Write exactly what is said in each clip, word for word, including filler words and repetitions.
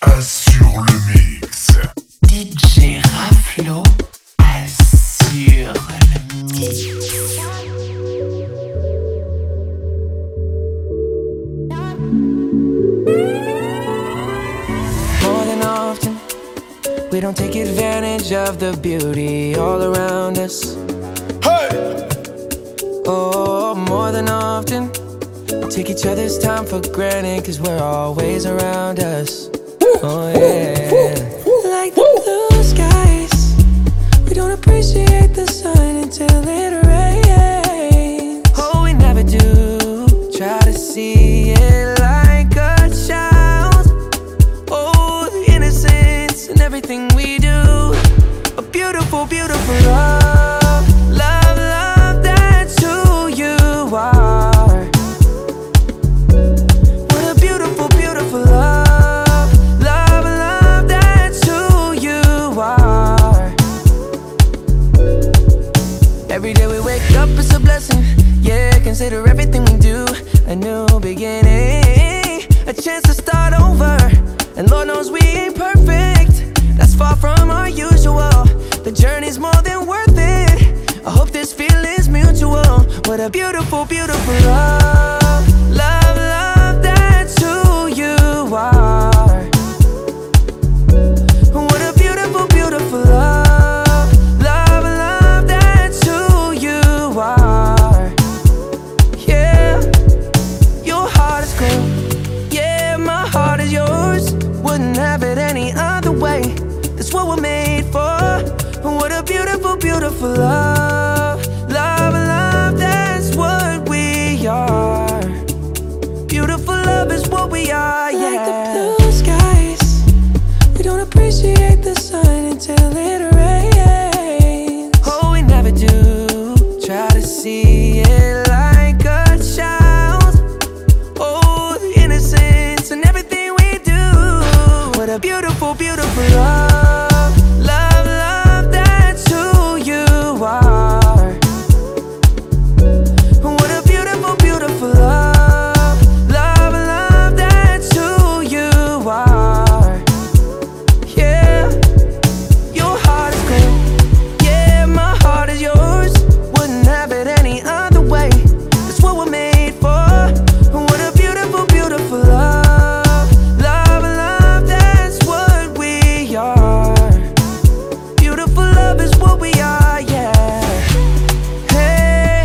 assure le mix. D J Raflo assure le mix. More than often, we don't take advantage of the beauty all around us. Hey! Oh, more than often, we take each other's time for granted, cause we're always around us. Oh yeah. Like the blue skies, we don't appreciate the sun until it rains. Oh, we never do, try to see it like a child. Oh, the innocence in everything we do. A beautiful, beautiful love. Love, love, that's who you are. What a beautiful, beautiful love. Love, love, that's who you are. Every day we wake up, it's a blessing. Yeah, consider everything we do a new beginning, a chance to start over. And Lord knows we ain't perfect, that's far from our usual. The journey's more than worth it, I hope this feeling's mutual. What a beautiful, beautiful love. Love, love, that's who you are. What a beautiful, beautiful love. Love, love, that's who you are. Yeah, your heart is cool. Yeah, my heart is yours. Wouldn't have it any other way. That's what we're made for. What a beautiful, beautiful love. Love, love, that's what we are. Beautiful love is what we are, yeah. Like the blue skies, we don't appreciate the sun until it rains. Oh, we never do, try to see it like a child. Oh, the innocence in everything we do. What a beautiful, beautiful love. Love, love, that's who you are. What a beautiful, beautiful love. Love, love, that's who you are. Yeah, your heart is cool. Yeah, my heart is yours. Wouldn't have it any other way. That's what we're made for. What a beautiful, beautiful love. Love, love, that's what we are. Beautiful love is what we are, yeah. Hey,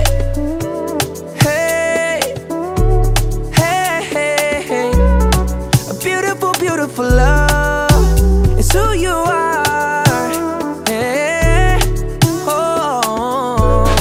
hey, hey, hey, hey. A beautiful, beautiful love is who you are. Hey, oh.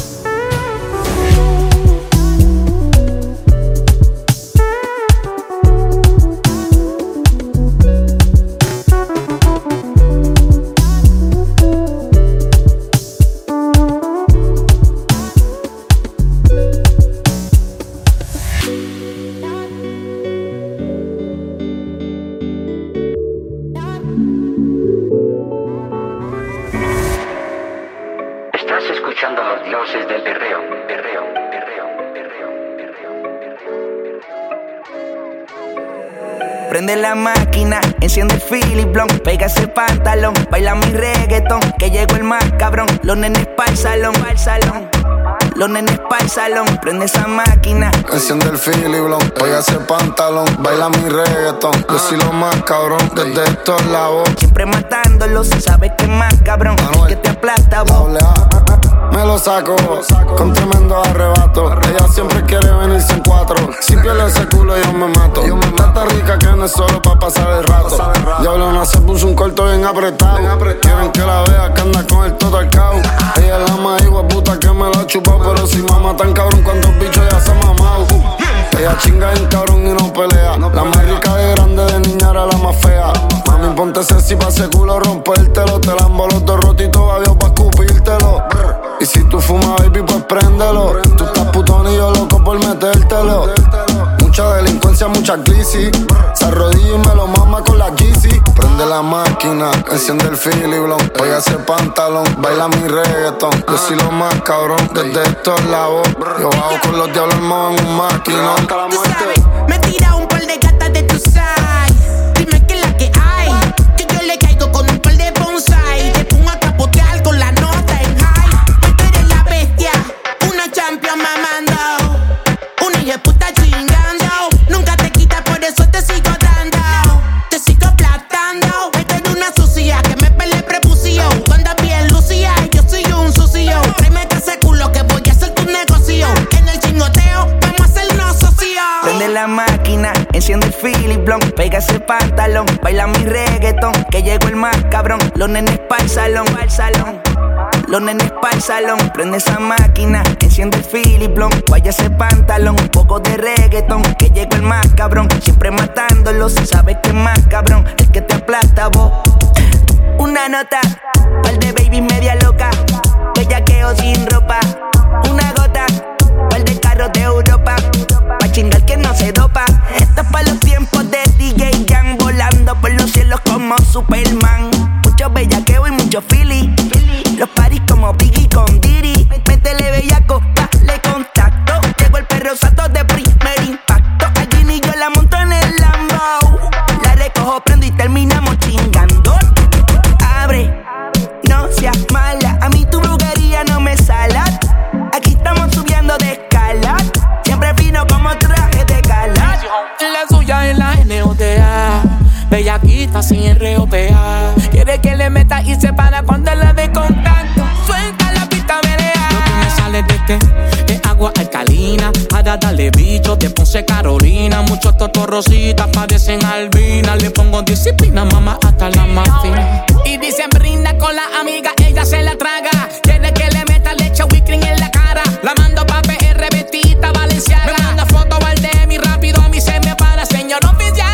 Estás escuchando a los dioses del perreo, perreo, perreo, perreo, perreo. Prende la máquina, enciende el Philip Blunt, pega ese pantalón, baila mi reggaetón, que llegó el más cabrón. Los nenes pa'l salón, pa'l salón. Los nenes pa'l salón, prende esa máquina. Enciende el Philly Blunt, pega ese pantalón, baila mi reggaetón. Yo soy lo más cabrón, desde estos lados. Siempre matándolos, sabes que más cabrón, Manuel, que te aplasta vos. doble A. Me lo saco, con tremendo arrebato. Ella siempre quiere venirse en cuatro. Si pierde ese culo yo me mato. Tanta rica que no es solo pa' pasar el rato. Diablona se puso un corto bien apretado. Quieren que la vea que anda con el todo al cao. Ella es la más puta que me la ha chupado. Pero si mama tan cabrón cuando el bicho ya se ha mamado. Ella chinga en cabrón y no pelea. La más rica de grande, de niña era la más fea. Mami, ponte sexy pa' ese culo rompértelo. Te lambo los dos rotitos avión pa' escupírtelo. Y si tú fumas, baby, pues préndelo. Tú estás putón y yo loco por metértelo. Mucha delincuencia, mucha crisis. Se arrodilla y me lo mama con la Yeezy. Prende la máquina, enciende el Philly Blunt, pega ese pantalón, baila mi reggaetón. Yo soy lo más cabrón, desde estos lados. Yo bajo con los diablos armados en un maquinón. Tú sabes, me tira un par de gatas de tu side. Dime que la que Prende la máquina, enciende el Philip Blond, pega ese pantalón, baila mi reggaetón, que llegó el más cabrón. Los nenes pa'l salón, pa'l salón. Los nenes pa'l salón, prende esa máquina, enciende el Philip Blond, vaya ese pantalón, un poco de reggaetón, que llegó el más cabrón, siempre matándolos, sabes que es más cabrón, el que te aplasta vos. Una nota, par de baby media loca, bellaqueo sin ropa, una gota, par de carros de Europa, pa' chingar que no se dopa. Esto es pa' los tiempos de D J Jan, volando por los cielos como Superman. Mucho bellaqueo y mucho Philly, los paris como Biggie con Diddy. Métele bellaco, dale contacto, llegó el perro santo de primer impacto. Allí ni yo la monto en el Lambo, la recojo, prendo y terminamos chingando. Abre, no seas mala, a mí tu brujería no me sala. Aquí estamos subiendo de escala, siempre fino como traje de gala. La suya es la N O T A, bellaquita sin R O P A. Quiere que le meta y se para cuando la de contacto. Suelta la pista, melea. Lo que me sale de qué es agua alcalina, para darle bicho de Ponce Carolina. Muchos totorrositas padecen albina. Le pongo disciplina, mamá, hasta la más fina. Y dicen brinda con la amiga, ella se la traga. Quiere que le meta leche whipped cream en la cara. La mando pa' P R vestida Valenciaga. Me manda foto al D M y rápido a mí se me para, señor oficial.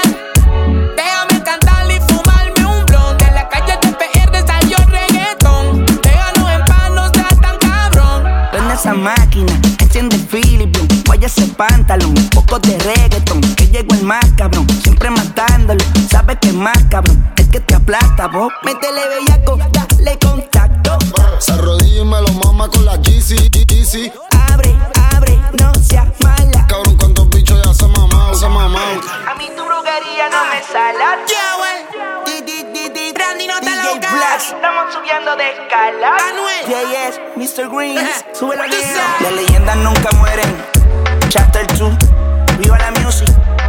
Déjame cantarle y fumarme un blon. De la calle de P R salió reggaetón. Déjanos en paz, no seas tan cabrón. Prende esa máquina, enciende el Philip Blond, vaya ese pantalón, un poco de reggaetón, que llegó el más cabrón, siempre matándolo, sabes que es más cabrón, el que te aplasta vos. Métele bellaco, dale contacto. Se arrodilla y me lo mama con la G C, G C. Abre, abre, no seas mala. Cabrón, cuántos bichos ya se mamao, se mamao. A mí tu brujería no me sala. Yeah, wey. Di, di, di, di. Randy, no te D J lo Blast, cagas. estamos subiendo de escala. Anuel. J S, mister Green, Ajá. sube la Tú vida. sabes. Las leyendas nunca mueren. Chapter two, viva la music.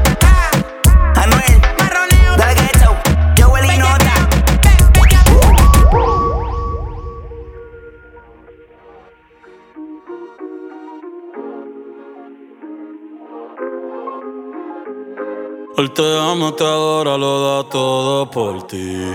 Anuel, Marroneo. dale ghetto, Joel y Nota. Él te ama, te adora, lo da todo por ti.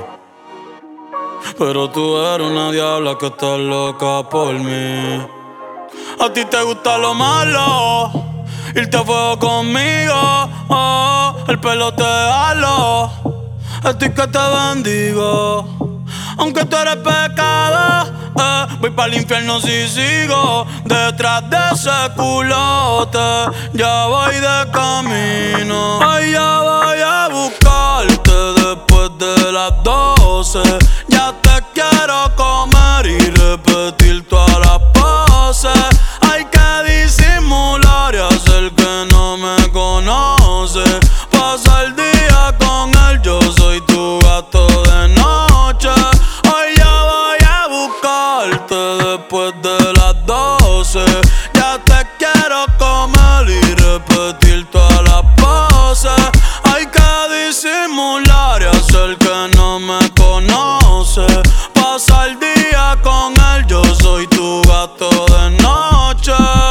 Pero tú eres una diabla que está loca por mí. A ti te gusta lo malo, irte a fuego conmigo. Oh, el pelo te halo, estoy que te bendigo. Aunque tú eres pecado, eh, voy pa'l infierno si sigo detrás de ese culote. Ya voy de camino, ay, ya voy a buscarte después de las doce. Ya te quiero comer y repetir todas las poses. Hay que disimular y hacer que no me conoce. Pasa el día con él, yo soy tu gato de noche. Hoy ya voy a buscarte después de las doce. Ya te quiero comer y repetir todas las poses. Hay que disimular y hacer que no me conoce. Pasa el día con él, yo soy tu gato de noche.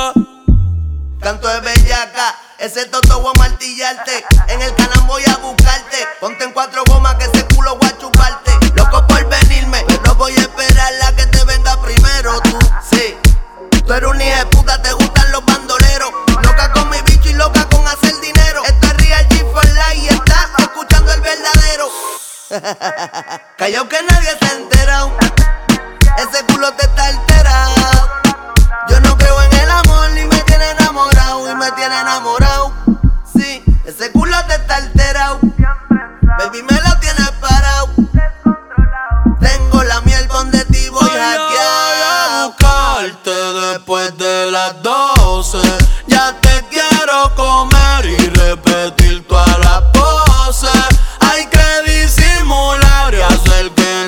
Canto de bellaca, ese toto voy a martillarte. En el canal voy a buscarte. Ponte en cuatro gomas que ese culo voy a chuparte. Loco por venirme, pero voy a esperar la que te venga primero. Tú, sí, tú eres una hija de puta, te gustan los bandoleros. Loca con mi bicho y loca con hacer dinero. Esto es Real G for Life y estás escuchando el verdadero. Callao que nadie se ha enterado. Ese culo te está alterado. Yo no creo en el amor ni me tiene enamorado. Y me tiene enamorado. Sí, ese culo te está alterado. Baby me lo tienes parado. Tengo la miel donde ti voy Voy a hackeado. buscarte después de las doce. Ya te quiero comer y repetir todas las poses. Hay que disimular y hacer que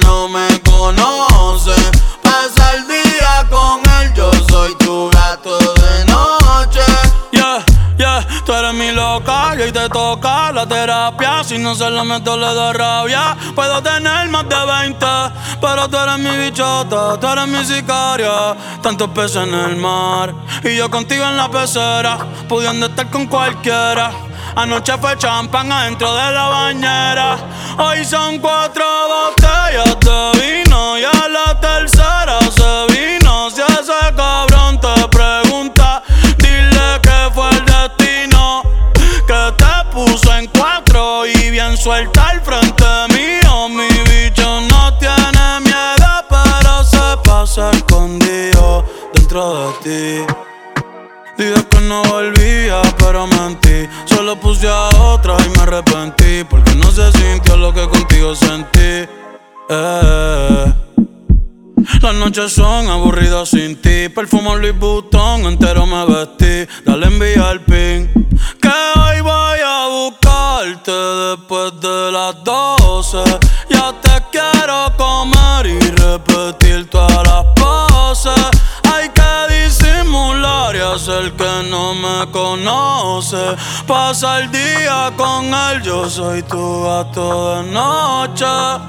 eres mi loca y hoy te toca la terapia. Si no se la meto le da rabia. Puedo tener más de veinte, pero tú eres mi bichota, tú eres mi sicaria. Tantos peces en el mar y yo contigo en la pecera, pudiendo estar con cualquiera. Anoche fue champán adentro de la bañera. Hoy son cuatro botellas de vino y a la tercera se vino. Si ese cabrón te pregunta, dile que fue el destino que te puso en cuatro y bien suelta al frente mío. Mi bicho no tiene miedo, pero se pasa escondido dentro de ti. Dije que no volvía, pero mentí. Solo puse a otra y me arrepentí, porque no se sintió lo que contigo sentí. eh. Las noches son aburridas sin ti. Perfumo Louis Vuitton, entero me vestí. Dale envía el pin, que hoy voy a buscarte después de las doce. Ya te quiero comer y repetir todas las poses. Hay que disimular y hacer que no me conoce. Pasa el día con él, yo soy tu gato de noche.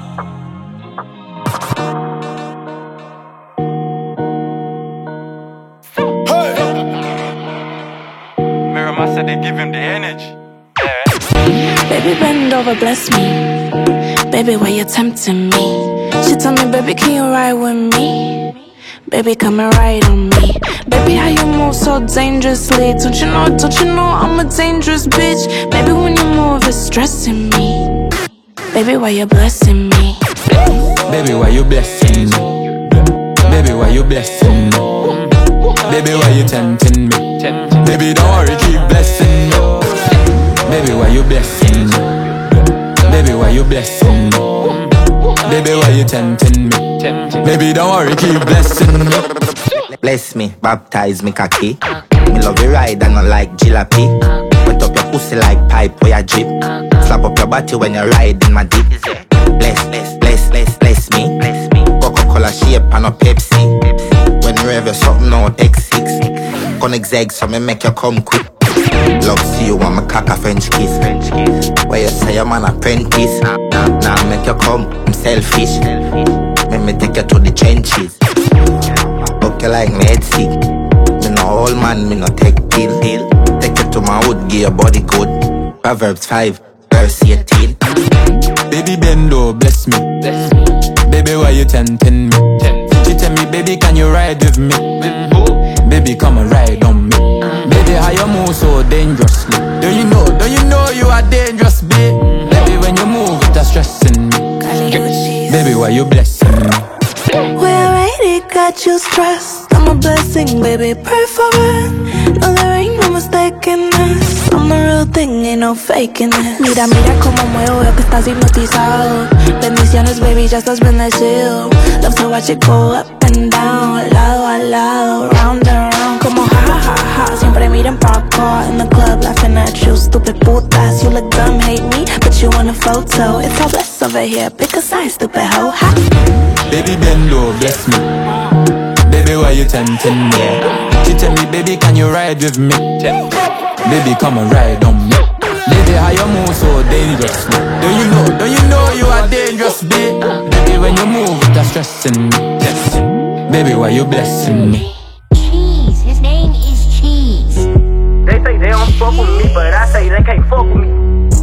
I said they give him the energy. Baby, bend over, bless me. Baby, why you tempting me? She told me, baby, can you ride with me? Baby, come and ride on me. Baby, how you move so dangerously? Don't you know, don't you know I'm a dangerous bitch? Baby, when you move, it's stressing me. Baby, why you blessing me? Baby, why you blessing me? Baby, why you blessing me? Baby, why you tempting me? Baby, don't worry, keep blessing me. Baby, why you blessing me? Baby, why you blessing me? Baby, why you tempting me? Baby, don't worry, keep blessing me. Bless me, baptize me cocky. Me love you ride and not like jalopy. Wet up your pussy like pipe where you drip. Slap up your body when you ride in my deep. Bless, bless, bless, bless, bless me. Coca-Cola shape and a Pepsi. When you rev your something out X six. Connect zag so me make you come quick. Love see you want me cock a French kiss. Where you say I'm an apprentice. Now nah, make you come, I'm selfish. Make me take you to the trenches. Okay like me head sick. Me no old man, me no take pill. Take you to my wood, give your body good. Proverbs five, verse eighteen. Baby bendo, bless me. Baby, why you tempting me? She tell me, baby, can you ride with me? Baby, come and ride on me. Baby, how you move so dangerously? Don't you know, don't you know you are dangerous, babe? Baby, when you move, it's stressing me. Baby, why you blessing me? We already got you stressed. I'm a blessing, baby, pray for it. No, there ain't no mistaking this. I'm the real thing, ain't no faking it. Mira, mira como muevo, veo que estás hipnotizado. Bendiciones, baby, ya estás bendecido. Love to watch it go up and down, lado a lado, round and round. Como ja, ja, ja, ja, siempre miran pa' acá. In the club, laughing at you, stupid putas. You look dumb, hate me, but you want a photo. It's all blessed over here, pick a side, stupid hoe, ha. Baby, bend low, bless me. Baby, why you tempting me? She tell me, baby, can you ride with me? Baby, come and ride on me. Baby, how you move so dangerously? Don't you know, don't you know you are dangerous, babe? Baby, when you move, it's stressing me. Baby, why you blessing me? Cheese, his name is Cheese. They say they don't fuck with me, but I say they can't fuck with me.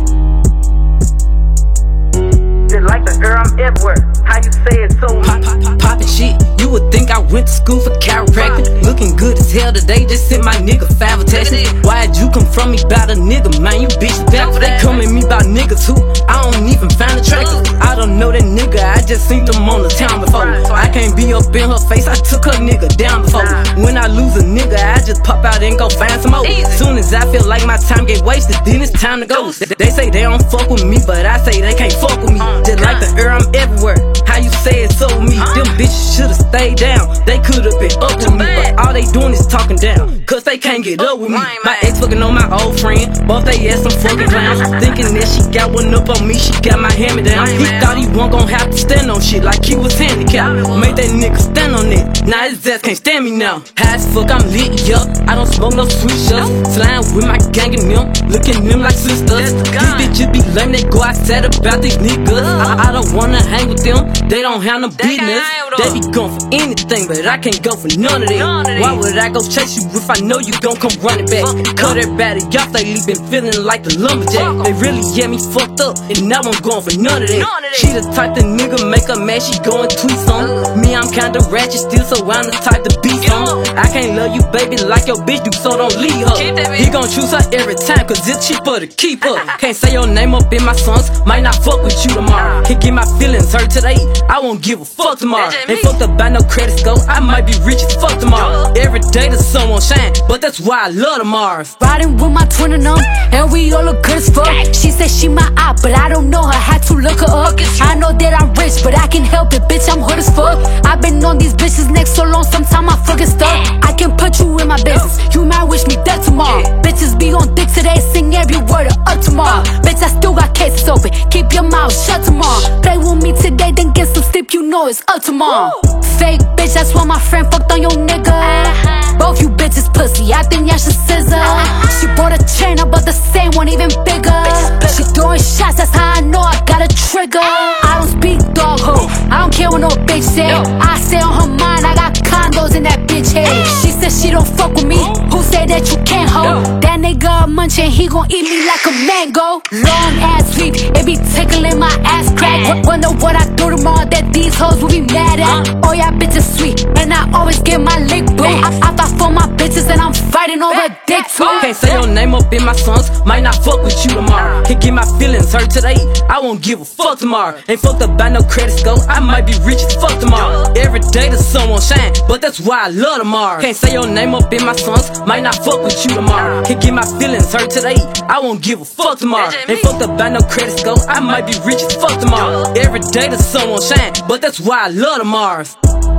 Just like the girl, I'm everywhere. How you say it so pop, pop, pop, poppin' shit. You would think I went to school for chiropractic. Looking good as hell today, just sent my nigga five attachment. Why'd you come from me about a nigga, man? You bitch bad. They come at me about niggas who I don't even find attractive. I don't know that nigga, I just seen them on the town before. I can't be up in her face, I took her nigga down before. When I lose a nigga, I just pop out and go find some more. Soon as I feel like my time get wasted, then it's time to go. They say they don't fuck with me, but I say they can't fuck with me. Just like the air, I'm everywhere. How you say it so me? Them bitches should've stayed down. They could could have been up with me, but all they doing is talking down, cause they can't get up with me. My ex fucking on my old friend, both they ass some fucking clowns. Thinking that she got one up on me, she got my hand me down. He thought he wasn't gon' have to stand on shit like he was handicapped. Made that nigga stand on it, now his ass can't stand me now. High as fuck, I'm lit, yup. I don't smoke no sweet shots. Slime with my gang and them, looking them like sisters. These bitches be lame, they go outside about these niggas. I, I don't wanna hang with them, they don't have no business. They be going for anything, but I can't go for none of that. Why would I go chase you if I know you gon' come running back? Cut everybody off, they been feeling like the lumberjack. They really get me fucked up, and now I'm going for none of that. She the type the nigga make her mad, she go and tweet some. Me, I'm kinda ratchet still, so I'm the type to be some. I can't love you, baby, like your bitch do, so don't leave her. He gon' choose her every time, cause it's cheaper to keep her. Can't say your name up in my songs, might not fuck with you tomorrow. Can't get my feelings hurt today, I won't give a fuck tomorrow. Ain't fucked up by no credit score, I might be rich as fuck tomorrow. Every day the sun won't shine, but that's why I love the Mars. Riding with my twin and them, and we all look good as fuck. She said she my op, but I don't know her, had to look her up. I know that I'm rich, but I can help it, bitch, I'm hood as fuck. I've been on these bitches' neck so long, sometimes I fucking stuck. I can put you in my business, you might wish me dead tomorrow. Bitches be on dick today, sing every word of up tomorrow. Bitch, I still got cases open, keep your mouth shut tomorrow. Play with me today, then get some sleep, you know it's up tomorrow. Fake bitch, that's why my friend fucked on your nigga. Both you bitches pussy, I think y'all should scissor. She bought a chain, I bought the same one, even bigger. She throwing shots, that's how I know I got a trigger. I don't speak dog ho, I don't care what no bitch say. I say on her mind, I got condos in that bitch head. She said she don't fuck with me, who said that you can't hold? That nigga a munchin', he gon' eat me like a mango. Long ass sweep, it be tickling my ass crack. Wonder what I do tomorrow that these hoes will be mad at. Oh yeah, bitches sweet, and I always get my lick boo. I, I fight for my bitches and I'm fighting over dick too. Can't say your name up in my songs, might not fuck with you tomorrow. Can't get my feelings hurt today, I won't give a fuck tomorrow. Ain't fucked up by no credit score, I might be rich as fuck tomorrow. Every day the sun won't shine, but that's why I love tomorrow. Can't say your name up in my songs, might not fuck with you tomorrow. Can't get my feelings hurt today, I won't give a fuck tomorrow. Ain't fucked up by no credit score, I might be rich as fuck tomorrow. Every day the sun won't shine, but that's why I love the Mars.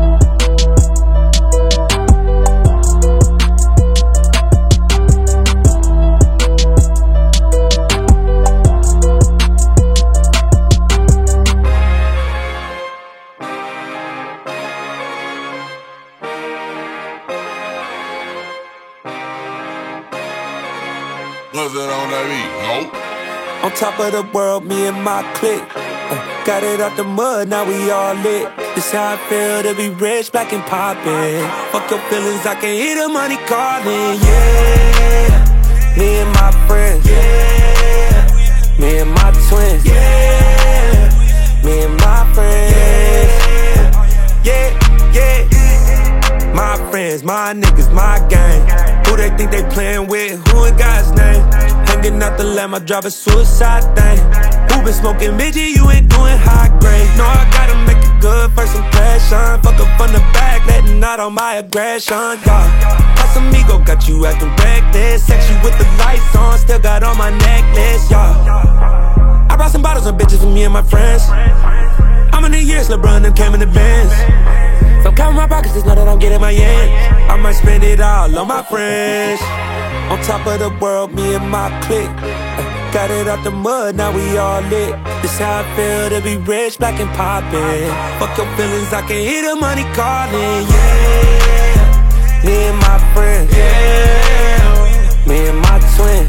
Was it on that beat? Nope. On top of the world, me and my clique. Uh, got it out the mud, now we all lit. This how I feel to be rich, black and poppin'. Fuck your feelings, I can hear the money calling. Yeah, me and my friends. Yeah, me and my twins. Yeah, me and my friends. Yeah, yeah, my friends, my niggas, my gang. Who they think they playin' with? Who in God's name? Hanging out the lamb, I drive a suicide thing. Who been smoking Midget? You ain't doing high grade. No, I gotta make it good, first impression. Fuck up on the back, letting out all my aggression, yeah. Casamigo got you acting reckless. Sex you with the lights on, still got on my necklace, yeah. I brought some bottles and bitches for me and my friends. How many years LeBron them came in the Benz? So count my pockets, just know that I'm getting my yen. I might spend it all on my friends. On top of the world, me and my clique. uh, Got it out the mud, now we all lit. This how I feel to be rich, black and poppin'. Fuck your feelings, I can hear the money calling. Yeah, me and my friends. Yeah, me and my twin.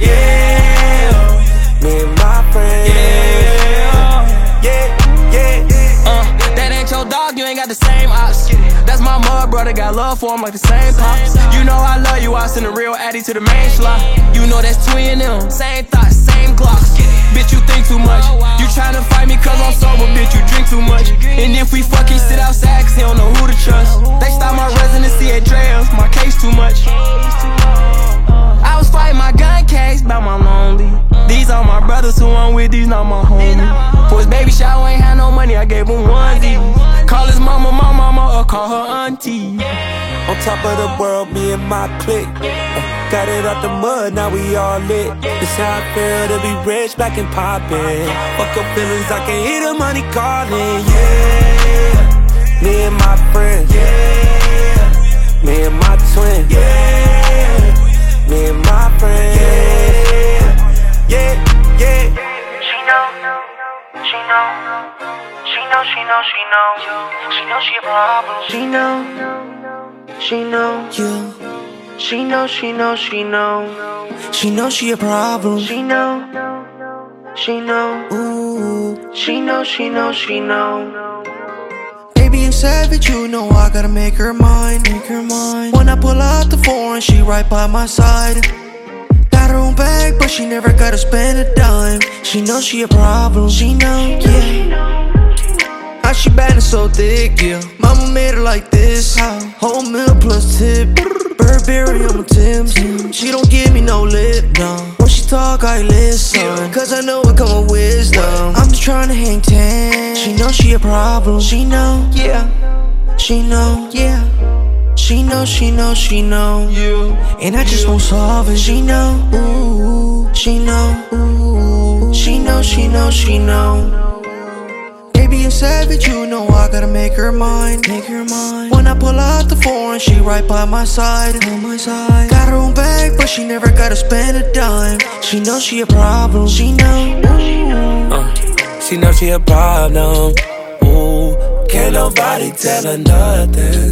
Yeah, me and my friends. Yeah, yeah, yeah. Uh, that ain't your dog, you ain't got the same ops. That's my mud brother, got love for him like the same pops. You know I love you, I send a real addy to the main slot. You know that's twin them, same thoughts, same glocks. Bitch, you think too much. You tryna fight me cause I'm sober, bitch, you drink too much. And if we fucking sit outside cause he don't know who to trust. They stop my residency at Dre's, my case too much. I was fighting my gun case about my lonely. These are my brothers who I'm with, these not my homies. For his baby shower, ain't had no money, I gave him one D. Call his mama, my mama, or call her auntie. On top of the world, me and my clique. uh, Got it out the mud, now we all lit. This how I feel to be rich, black and poppin'. Fuck your feelings, I can hear the money calling. Yeah, me and my friends. Yeah, Me and my twin, yeah. Me and my friend, yeah, yeah, yeah. She know, she know, she know, she know, she know, she know she a problem. She know, she know, yeah. She know, she know, she know, she know she a problem. She know, she know, ooh. She know, she know, she know. Baby, I'm savage, you know I gotta make her mine, make her mine. When I pull out the foreign, she right by my side. Got her own bag, but she never gotta spend a dime. She knows she a problem, she know, yeah. How she bad and so thick, yeah. Mama made her like this, how? Whole meal plus tip. Burberry on my Timbs. She don't give me no lip, no. When she talk, I listen, cause I know it come with wisdom. I'm just tryna hang ten. She know she a problem, she know, yeah. She know, yeah. She know, she know, she know, yeah. And I just won't solve it. She know, ooh. She know, ooh. She know, she know, she know. Baby, I'm savage, you know I gotta make her mine, make her mine. When I pull out the foreign, she right by my side, on my side. Got her own bag, but she never gotta spend a dime. She knows she a problem, she know. Uh, she know she a problem. Ooh, can't nobody tell her nothing.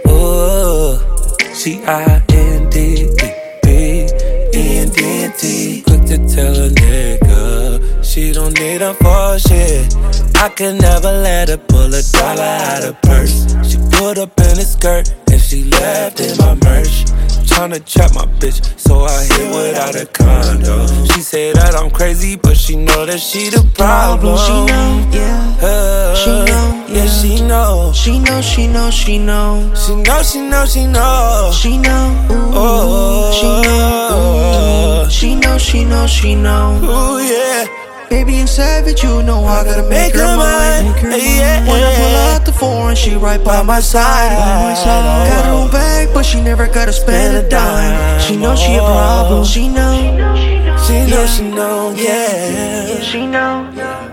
Ooh, she I N D E N D T. Quick to tell a nigga she don't need her for shit. I could never let her pull a dollar out of purse. She put up in a skirt and she left in my merch. Tryna trap my bitch, so I hit without a condo. She say that I'm crazy, but she know that she the problem. She know, yeah. Uh, she know, yeah. yeah. She know. She know, she know, she know. She know, she know, she know. She know, ooh. Oh, she know, ooh. She know, she know, she know. Ooh, yeah. Baby, I'm savage, you know I gotta make, make her mine. Make her mine. Yeah. When I pull out the foreign, she right by my side. By my side. Got her own bag, but she never gotta spend a dime. She know she a problem. She know. She know, she know, yeah. She know.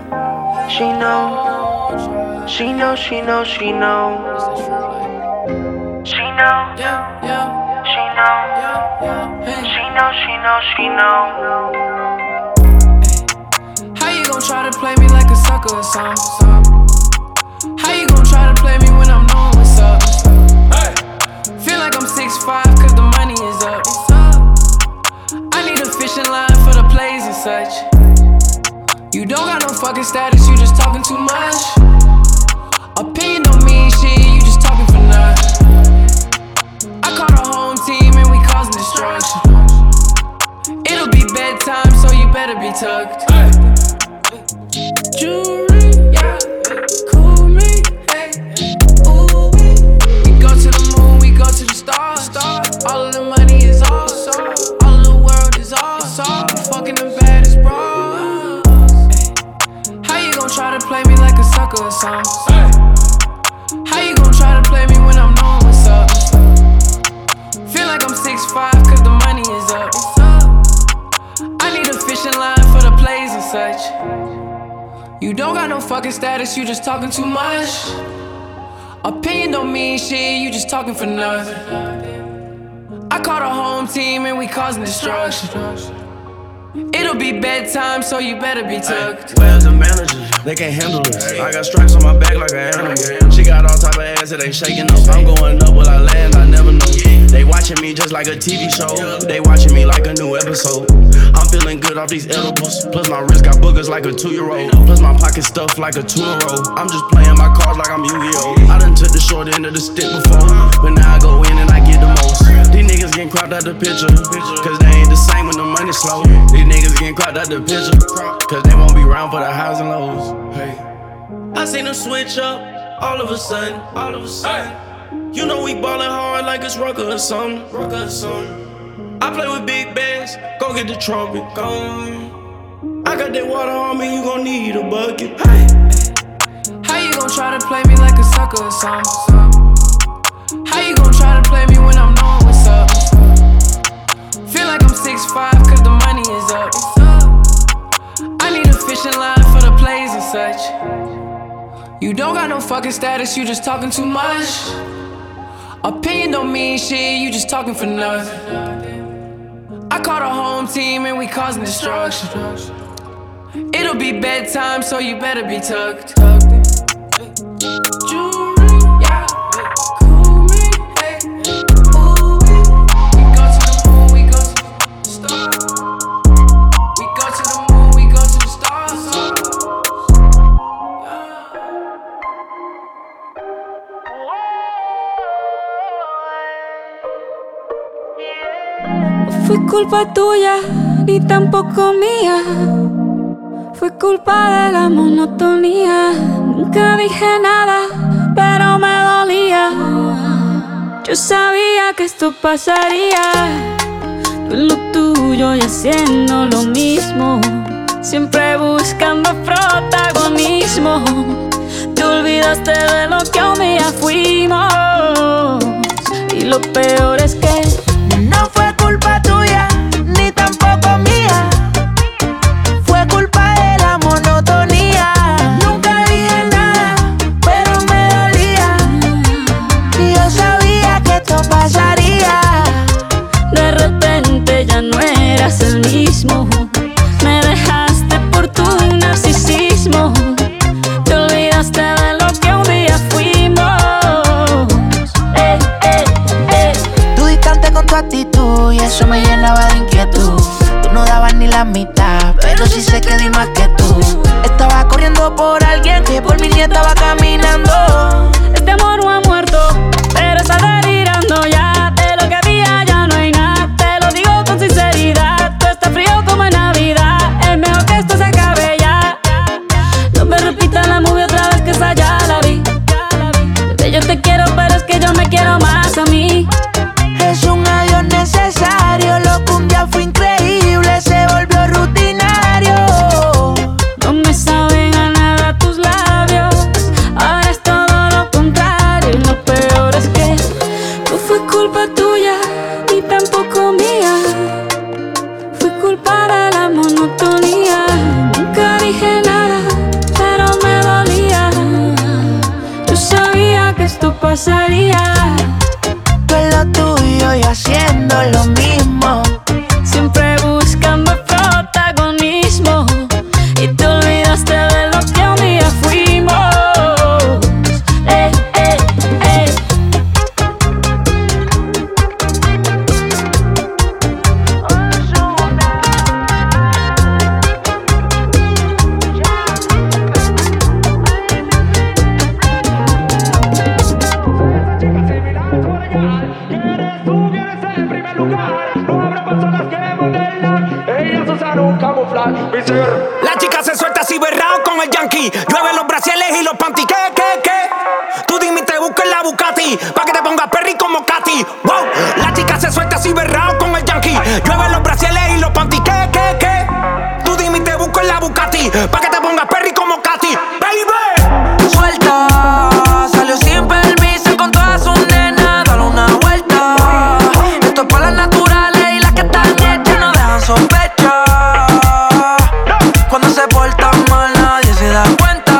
She know. She know, she know, she know. She know, Yeah, yeah, she know, yeah, yeah. Hey. she know, she know, she know. How you gon' try to play me like a sucker or something? How you gon' try to play me when I'm knowing what's up? Hey. Feel like I'm six five cause the money is up. I need a fishing line for the plays and such. You don't got no fucking status, you just talking too much. Opinion don't mean shit, you just talking for nothing. I called a home team and we causing destruction. It'll be bedtime, so you better be tucked. Hey. Jewelry, yeah, cool me, hey, ooh. We go to the moon, we go to the stars. All of the money is ours, all of the world is ours. Fucking the baddest bras. How you gon' try to play me like a sucker or something? How you gon' try to play me when I'm knowing what's up? Feel like I'm six five cause the money is up. I need a fishing line for the plays and such. You don't got no fucking status, you just talking too much. Opinion don't mean shit, you just talking for nothing. I called a home team and we causing destruction. It'll be bedtime, so you better be tucked. Where's the manager? They can't handle this. I got stripes on my back like an animal. She got all type of ass that ain't shaking up. I'm going up, will I land? I never know. They watching me just like a T V show. They watching me like a new episode. I'm feeling good off these edibles. Plus my wrist got boogers like a two-year-old. Plus my pocket stuffed like a tuna roll. I'm just playing my cards like I'm Yu-Gi-Oh! I done took the short end of the stick before, but now I go in and I get the most. These niggas getting cropped out the picture, cause they ain't the same when the money slow. These niggas getting cropped out the picture, cause they won't be around for the highs and lows. Hey. I seen them switch up all of a sudden, all of a sudden. You know we ballin' hard like it's Rucker or something, Rucker or something. I play with big bags, go get the trumpet, go. I got that water on me, you gon' need a bucket. Hey. How you gon' try to play me like a sucker or something? How you gon' try to play me when I'm knowing what's up? Feel like I'm six five cause the money is up. I need a fishing line for the plays and such. You don't got no fucking status, you just talking too much. Opinion don't mean shit, you just talking for nothing. I called a home team and we causing destruction. It'll be bedtime, so you better be tucked. Jewelry, yeah, cool me, hey, ooh. We go to the moon, we go to the stars. We go to the moon, we go to the stars. No fue culpa tuya, ni tampoco mía. Fue culpa de la monotonía. Nunca dije nada, pero me dolía. Yo sabía que esto pasaría. Tú en lo tuyo y haciendo lo mismo, siempre buscando protagonismo. Te olvidaste de lo que un día fuimos. Y lo peor es que no fue culpa tuya, ni tampoco mía. Fue culpa de la monotonía. Nunca dije nada, pero me dolía. Y yo sabía que esto pasaría. De repente ya no eras el mismo. Me dejaste por tu narcisismo. Te olvidaste de lo que un día fuimos. Eh, eh, eh. Tú distante con tu actitud y eso me llenaba de inquietud. Tú no dabas ni la mitad, pero sí sé que di más que tú. Estaba corriendo por alguien que por mí ni estaba caminando. Este amor no ha muerto, pero está delirando ya. De lo que había ya no hay nada. Te lo digo con sinceridad. Tú estás frío como en Navidad. Es mejor que esto se acabe ya. No me repitas la movie otra vez, que esa ya la vi. Bebé, yo te quiero, pero es que yo me quiero más a mí. Es un adiós necesario. Lo que un día fue increíble se volvió rutinario. No me saben a nada tus labios. Ahora es todo lo contrario. Y lo peor es que no fue culpa tuya, ni tampoco mía. Fue culpa de la monotonía. Nunca dije nada, pero me dolía. Yo sabía que esto pasaría. Tú en lo tuyo y haciendo lo mismo. Siempre buscando protagonismo. Y te olvidaste de lo que un día fuimos. Eh, eh, eh. La chica se suelta así berrao con el yankee. Llueve los brasieles y los panty. ¿Qué, qué, qué? Tú dime y te busco en la Bugatti pa' que te pongas perry como Katy. Wow. La chica se suelta así berrao con el yankee. Llueve los brasieles y los panty. ¿Qué, qué, qué? Tú dime y te busco en la Bugatti pa' que te pongas perry como Katy. Baby. Suelta, salió sin permiso con todas sus nenas. Dale una vuelta. Esto es para las naturales y las que están hechas no dejan sospecha. Cuando se porta mal nadie se da cuenta.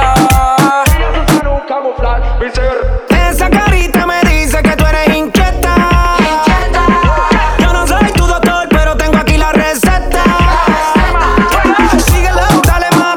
Esa carita me dice que tú eres inquieta. Yo no soy tu doctor, pero tengo aquí la receta. Síguelo, dale más.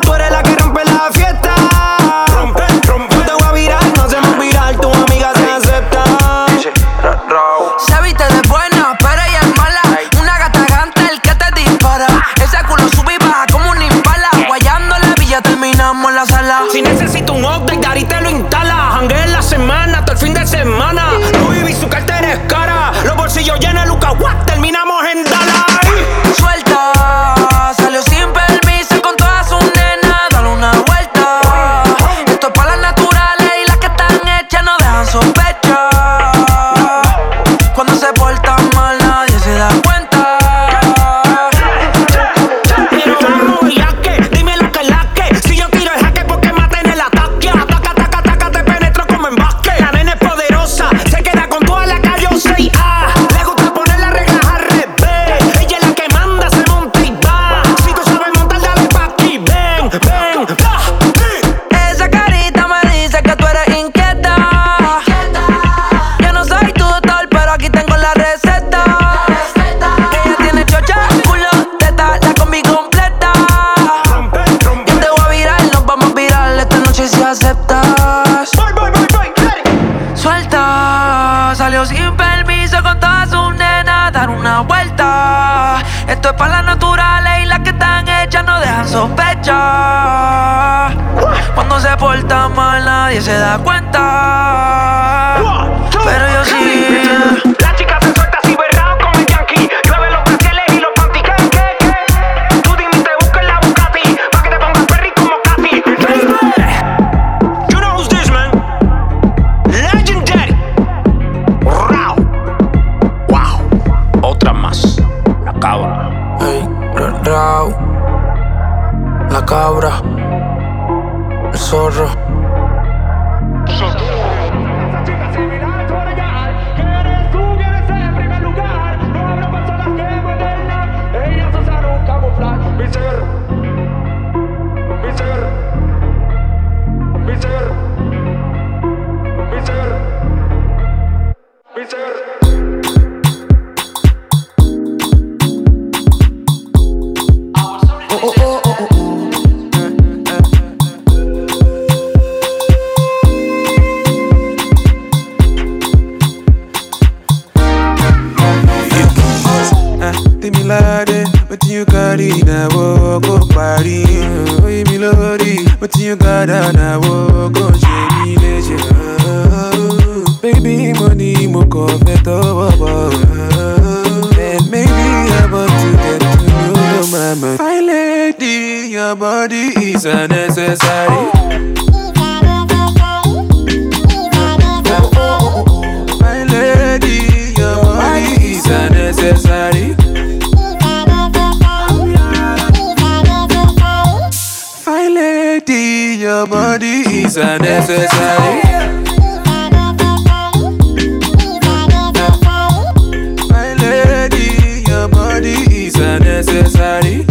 nadie se da cuenta. Pero yo sí. La chica se suelta así berrao con el Yankee. Llueve los brasiles y los panty. ¿Qué, qué, qué? Tú dime te busca en la Bugatti pa' que te pongas perry como Katy. You know who's this, man? Legendary. Rao. Wow. Otra más. La cabra. Hey, Rao. La cabra. El zorro. What you got in a walk up party? Oh, me lordy. What you got on a walk on Jamie Legend? Baby, money, mo confet over. And maybe I'm about to get to know my man. My lady, your body is unnecessary. My lady, your body is unnecessary. Your body is unnecessary. My lady, your body is unnecessary.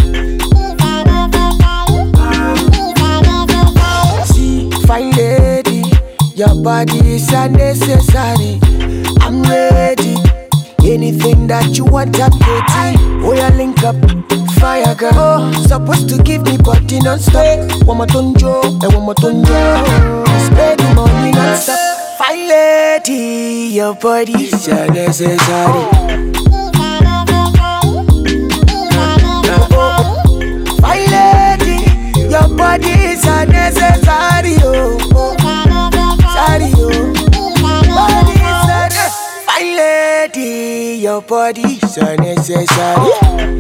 See, fine lady, your body is unnecessary. I'm ready. Anything that you want, I'm ready. Oh, yeah, link up. Fire girl, oh, supposed to give me body non-stop. One more tonjo, and one more tonjo. Spend the money non-stop. Fine lady, your body is unnecessary. Fine lady, your body is unnecessary. Oh, oh, sorry, oh. Body is unnecessary. Fine lady, your body is unnecessary.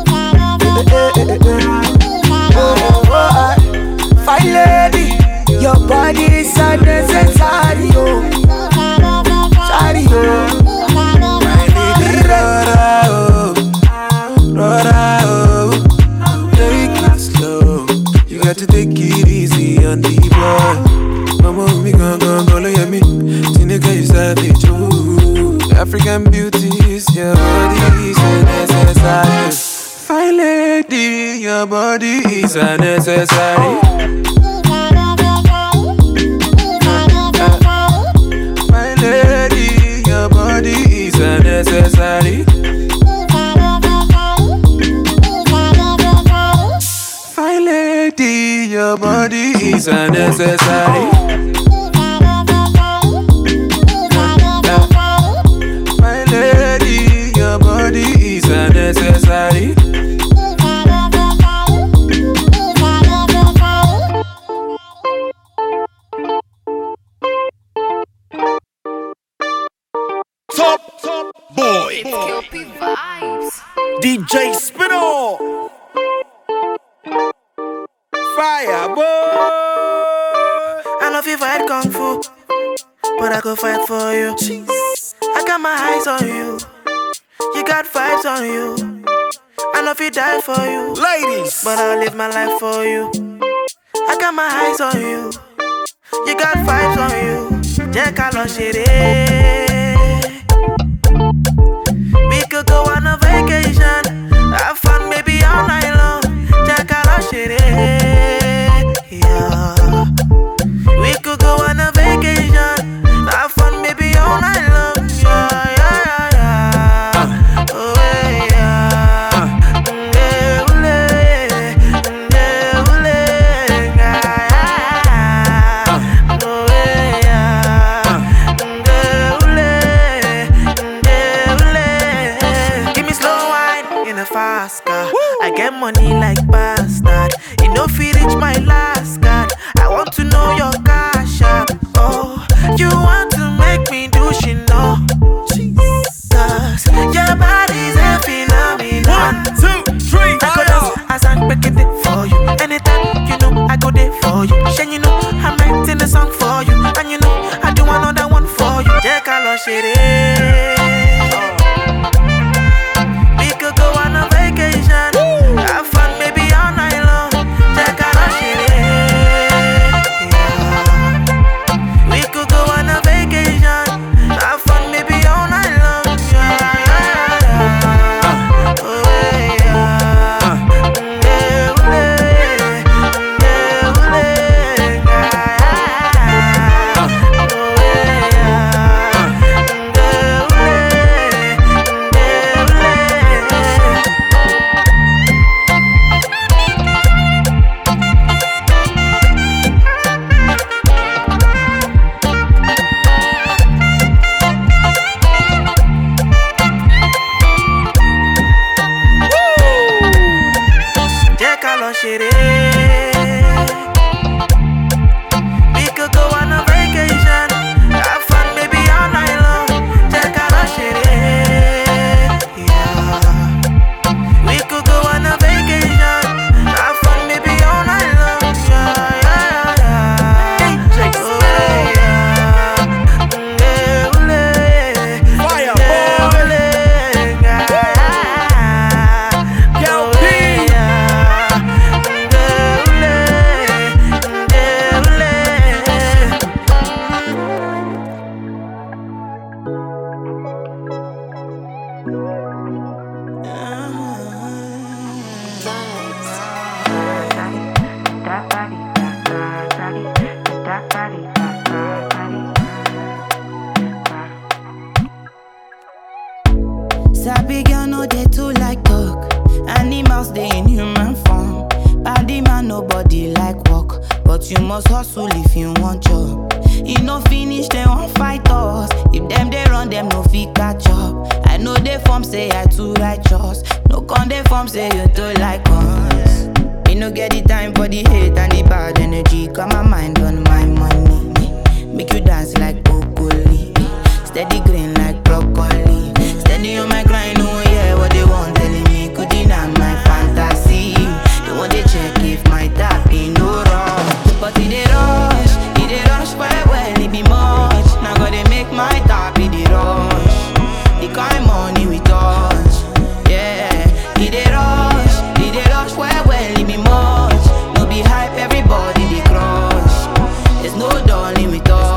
Fine lady, your body is unnecessary. Oh, sorry, oh. My lady, rora, oh, rora, oh. Take it slow. You got to take it easy on the boy. Mama, me gon' gon' go look at me. Tinika, you savage, ooh. African beauties, your body is unnecessary. Fine lady, your body is unnecessary. My lady, your body is unnecessary. Fine lady, your body is unnecessary. My lady, your body is unnecessary. Top, top boy. D J Spinall. Fire boy. I know if you fight kung fu, but I go fight for you. I got my eyes on you. You got vibes on you. I know if you die for you, ladies, but I'll live my life for you. I got my eyes on you. You got vibes on you. Jẹ́ ká lọ ṣeré. We could go on a vacation, have fun maybe all night long. Jẹ́ ká lọ ṣeré. Yeah. We could go on a vacation, have fun maybe all night long. Yeah, yeah, yeah, yeah. Oh, yeah. Mm, ule, mm, ule, yeah, yeah. Oh, yeah. Mm, ule, mm, ule. Give me slow wine in a fast car. I get money like bastard. We could go on a vacation, have fun, baby, all night long. Check out our shit, yeah. We could go on a vacation, have fun, baby, all night long. Yeah, yeah, yeah. Check it out, yeah. Fire, boy. Sabi girl no dey too like talk. Animals dey in human form. Body man nobody like work, but you must hustle if you want job. E no finish dem wan fight us. If dem dey run dem no fit catch up. I know dey form say I too righteous. No con dey form say you too like us. Me no get the time for the hate and the bad energy. Got my mind on my money. Make you dance like broccoli. Steady green like broccoli. Steady on my grind, oh yeah, what they want telling me could deny my fantasy. They want to check if my tap be no wrong. But it dey rush, it dey rush well well, it be much. Now gotta make my tap be the rush. The kind money we touch, yeah. It dey rush, it dey rush well well, it be much. No be hype, everybody they crush. There's no darling with us.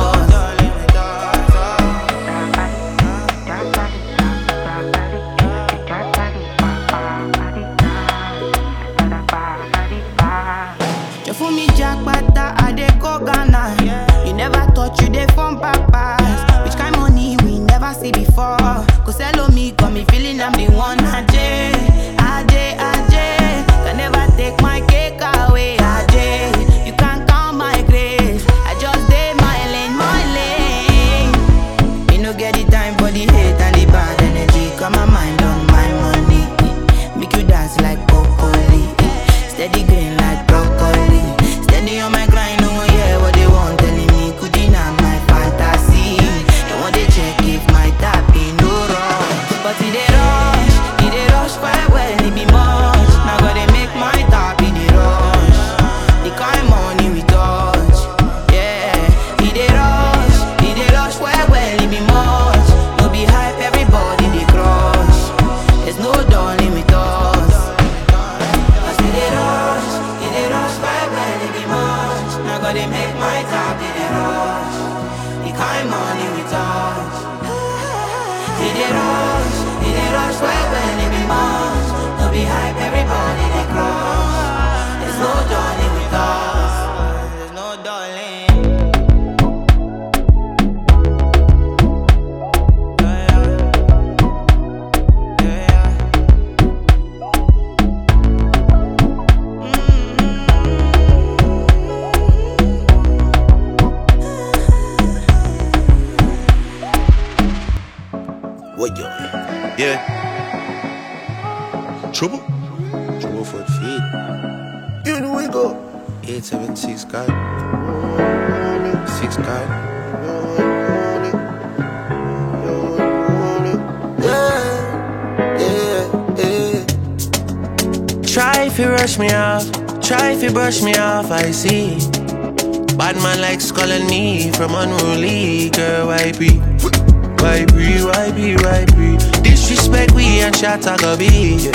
You fool me jackpata, I dey go Ghana. You never thought you dey from papas. Which kind money we never see before. Cause hello me, got me feeling I'm the one. Ajay, Ajay, Ajay. Can never take my cake away, Ajay. You can't count my grace. I just dey my lane, my lane. Me no get the time for the hate and the bad energy. Got my mind on my money. Make you dance like broccoli. Steady green like broccoli. Steady on my grind, oh yeah, what they want telling me could deny my fantasy. They want to check if my tap be no wrong. But it dey rush, it dey rush quite well, it be much. Now gotta make my tap be the rush. The kind money we touch, yeah. It dey rush, it dey rush quite well, it be much. No be hype, everybody they crush. There's no darling with us. Cause it dey rush, it dey rush quite well, it be much. Now gotta make my tap be the rush. The kind money we touch. It dey rush, it dey rush quite well, it be much. No be hype, everybody they crush. There's no darling with us. There's no darling. What yo? Yeah. Trouble? Trouble for the feet. You know we go. eight seven six God. Six God. Yeah, yeah, yeah. Try if you rush me off, try if you brush me off, I see. Bad man like calling me from unruly, girl, why be? Why be, why be, why be? Disrespect we and shot I go be.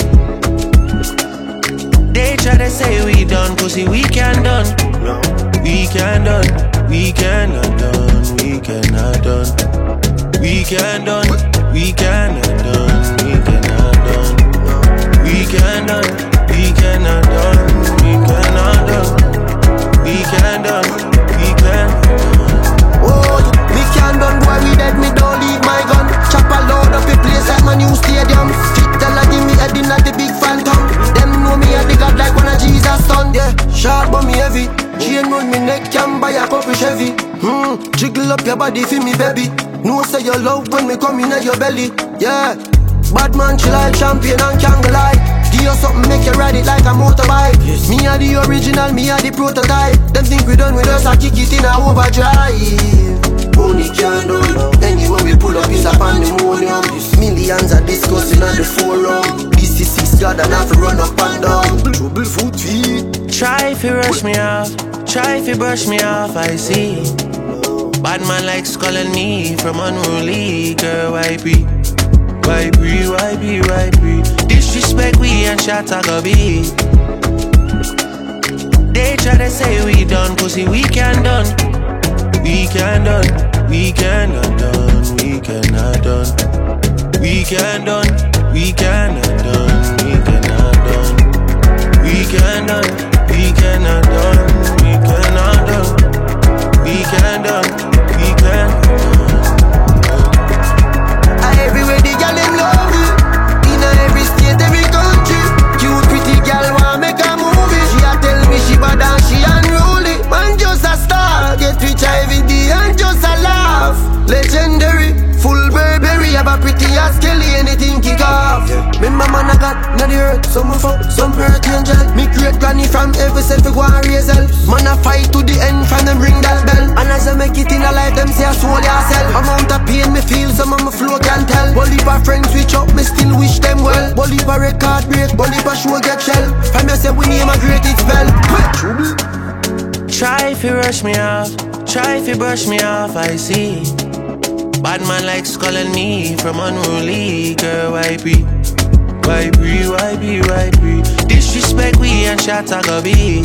They try to say we done, pussy we can done. We can done, we cannot done, we cannot done. We can done, we cannot done, we cannot done. We can done, we cannot done, we cannot done. We can done, we can done. Oh, we can done, boy, we dead, me don't leave my gun. Chop a load up a place like my new stadium. Street tell her give me head in at the big phantom. Them know me at the God like one of Jesus' son. Yeah, sharp but me heavy. Chain round me neck, can buy a couple Chevy. Hmm, jiggle up your body for me, baby. No say your love when me come in at your belly. Yeah, bad man chill like champion and can't lie. you something, make you ride it like a motorbike. Yes. Me are the original, me are the prototype. Them think we done with us, I kick it in a overdrive. Money can't done. Anyway we pull up is a pandemonium. Millions are discussing on the forum. This is six God and have to run up and down. Trouble foot feet. Try if you rush me off, try if you brush me off, I see. Bad man likes calling me from unruly. Girl, why be? Why be, why be, why be? Disrespect we and shot I go be. They try to say we done, pussy we can done. We can done, we cannot done, we cannot done. We can done, we cannot done, we cannot done. We can done. We cannot done, we cannot done, we can done, we can done. Everywhere the girl them love you, in every state, every country. Cute pretty girl wanna make a movie. She a tell me she bad and she unruly. Man just a star, get rich every day and just a laugh. Legendary, full Burberry, have a pretty ass Kelly, anything kick off. Remember man I got not the earth, some of up, some earth angel. Me great granny from every self go and raise hell. Man I fight to the end from them ring that bell. And as I make it in a life, them say I soul yourself. Amount of pain me feel, some of my flow can tell. Bully for friends switch up, me still wish them well. Bully for record break, bully for show get shell. From you say we name a great it spell. Try if you rush me off, try if you brush me off, I see. Bad man likes calling me from unruly. Girl, why be? Why be, why be, why be? Disrespect we and shot I go be.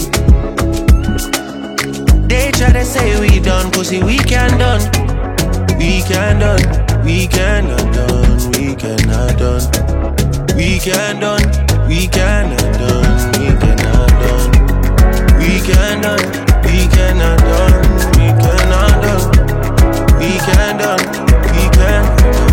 They try to say we done, pussy we can done. We can done, we cannot done, we cannot done. We can done, we cannot done, we cannot done. We can done, we cannot done, we cannot done. We can done, we can done.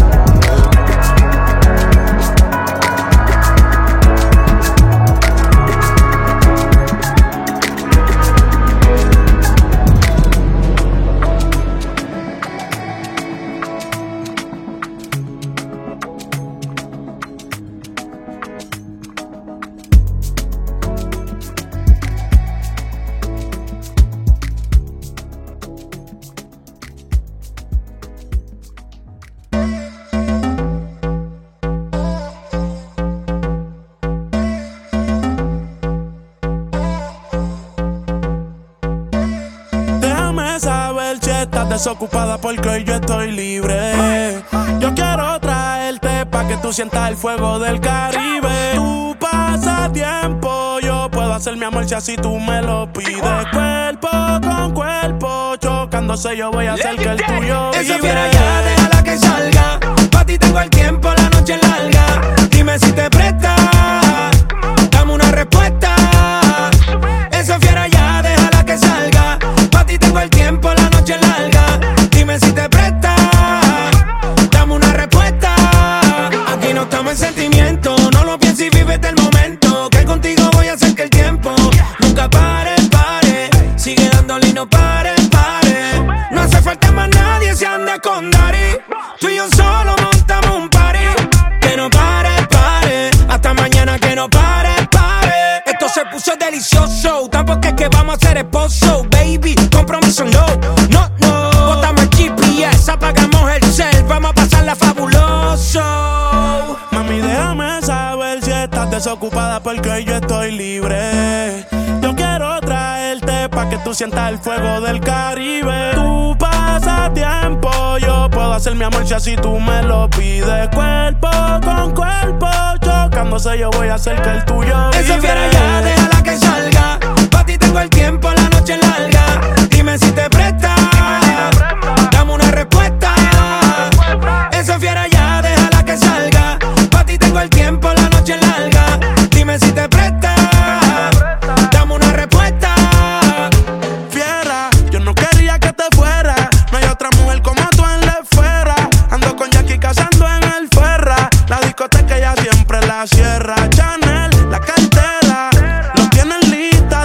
Desocupada porque hoy yo estoy libre. Yo quiero traerte pa' que tú sientas el fuego del Caribe. Tu pasatiempo, yo puedo hacer mi amor si así tú me lo pides. Cuerpo con cuerpo, chocándose yo voy a hacer que el tuyo vibre. Esa fiera ya, déjala que salga. Pa' ti tengo el tiempo, la noche es larga. Dime si te prestas, dame una respuesta. Esa fiera ya, déjala que salga. Pa' ti tengo el tiempo, la noche es larga. Dime si te prestas, dame una respuesta. Aquí no estamos en sentimiento, no lo pienses y vívete el momento. Que contigo voy a hacer que el tiempo nunca pare, pare. Sigue dándole y no pare, pare. No hace falta más nadie, se anda con Dari. Tú y yo solo montamos un party. Que no pare, pare. Hasta mañana que no pare, pare. Esto se puso delicioso, tampoco es que vamos a ser esposo. Baby, compromiso no, no, no. Botamos el G P S, apagamos el cel. Vamos a pasarla fabuloso. Mami, déjame saber si estás desocupada porque hoy yo estoy libre. Yo quiero traerte pa' que tú sientas el fuego del Caribe. Tu pasatiempo, yo puedo hacer mi amor si así tú me lo pides. Cuerpo con cuerpo, chocándose yo voy a hacer que el tuyo vibre. Esa fiera ya, déjala que salga. Pa' ti tengo el tiempo, la noche es larga. Dime si te prestas, dame una respuesta. Esa fiera ya, déjala que salga. Pa' ti tengo el tiempo, la noche es larga. Dime si te prestas, dame una respuesta. Fiera, yo no quería que te fuera. No hay otra mujer como tú en la esfera. Ando con Jackie cazando en el Ferra. La discoteca ya siempre la cierra. Chanel, la cartera, lo tienen lista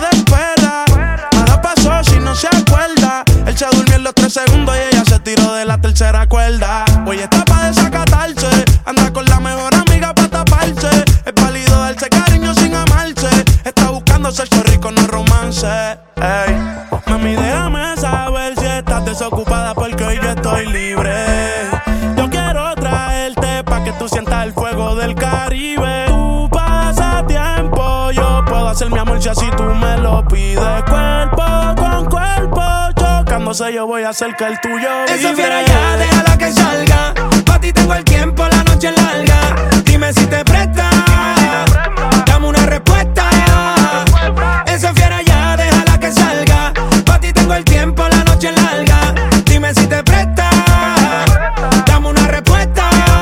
romance. Ey. Mami, déjame saber si estás desocupada porque hoy yo estoy libre. Yo quiero traerte pa' que tú sientas el fuego del Caribe. Tu pasatiempo, yo puedo hacer mi amor si así tú me lo pides. Cuerpo con cuerpo, chocándose yo voy a hacer que el tuyo vibre. Esa fiera ya, déjala que salga. Pa' ti tengo el tiempo, la noche es larga. Dime si te presta, dame una respuesta. Esa fiera ya, déjala que salga. Pa' ti tengo el tiempo, la noche es larga. Dime si te presta, dame una respuesta.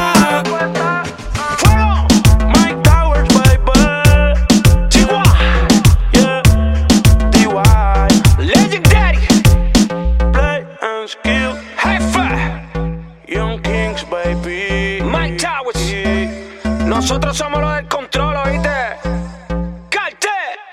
Mike Towers, baby. T Y, yeah, D Y. Legendary. Play and skill. High five. Young Kings, baby. Mike Towers. Yeah. Nosotros somos los del control, ¿oíste? ¡Cartel!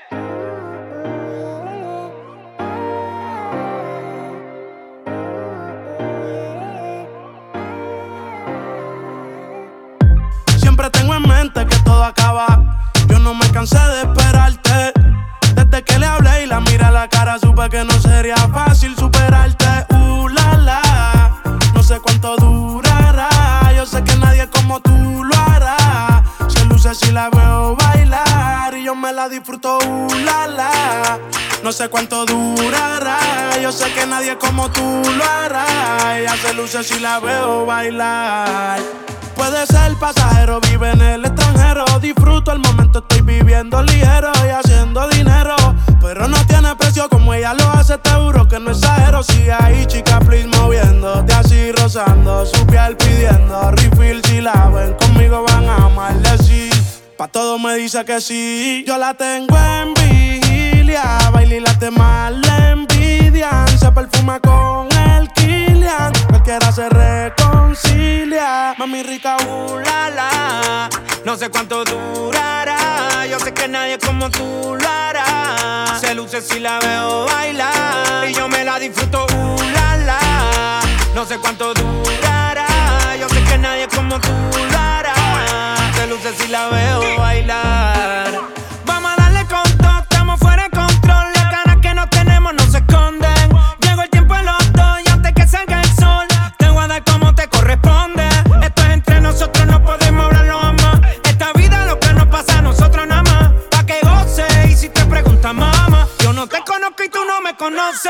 Siempre tengo en mente que todo acaba. Yo no me cansé de esperarte. Desde que le hablé y la miré a la cara, supe que no sería fácil superarte. Uh, la, la. No sé cuánto durará. Yo sé que nadie como tú lo hará. Se luce si la veo bailar y yo me la disfruto. Uh, la, la. No sé cuánto durará. Yo sé que nadie como tú lo hará. Ella se luce si la veo bailar. Puede ser pasajero, vive en el extranjero. Disfruto el momento, estoy viviendo ligero y haciendo dinero. Pero no tiene precio como ella lo hace, te juro que no exagero. Sigue ahí, chica, please, moviéndote así, rozando su piel, pidiendo refill. Si la ven conmigo van a amarle, sí. Pa' todo me dice que sí. Yo la tengo en vigilia, baila y las demás le envidian. Se perfuma con el Kilian, cualquiera se reconcilia. Mami rica, uh, la, la. No sé cuánto durará. Yo sé que nadie como tú lo hará. Se luce si la veo bailar y yo me la disfruto, uh, la, la. No sé cuánto durará. Yo sé que nadie como tú lo hará. Se luce si la veo bailar. Vamos a darle con todo, estamos fuera de control. Las ganas que no tenemos no se esconden. Llegó el tiempo en los dos y antes que salga el sol te voy a dar como te corresponde. Esto es entre nosotros, no podemos hablarlo jamás. Esta vida lo que nos pasa a nosotros nada más. Pa' que goce y si te preguntas mamá, yo no te conozco y tú no me conoces.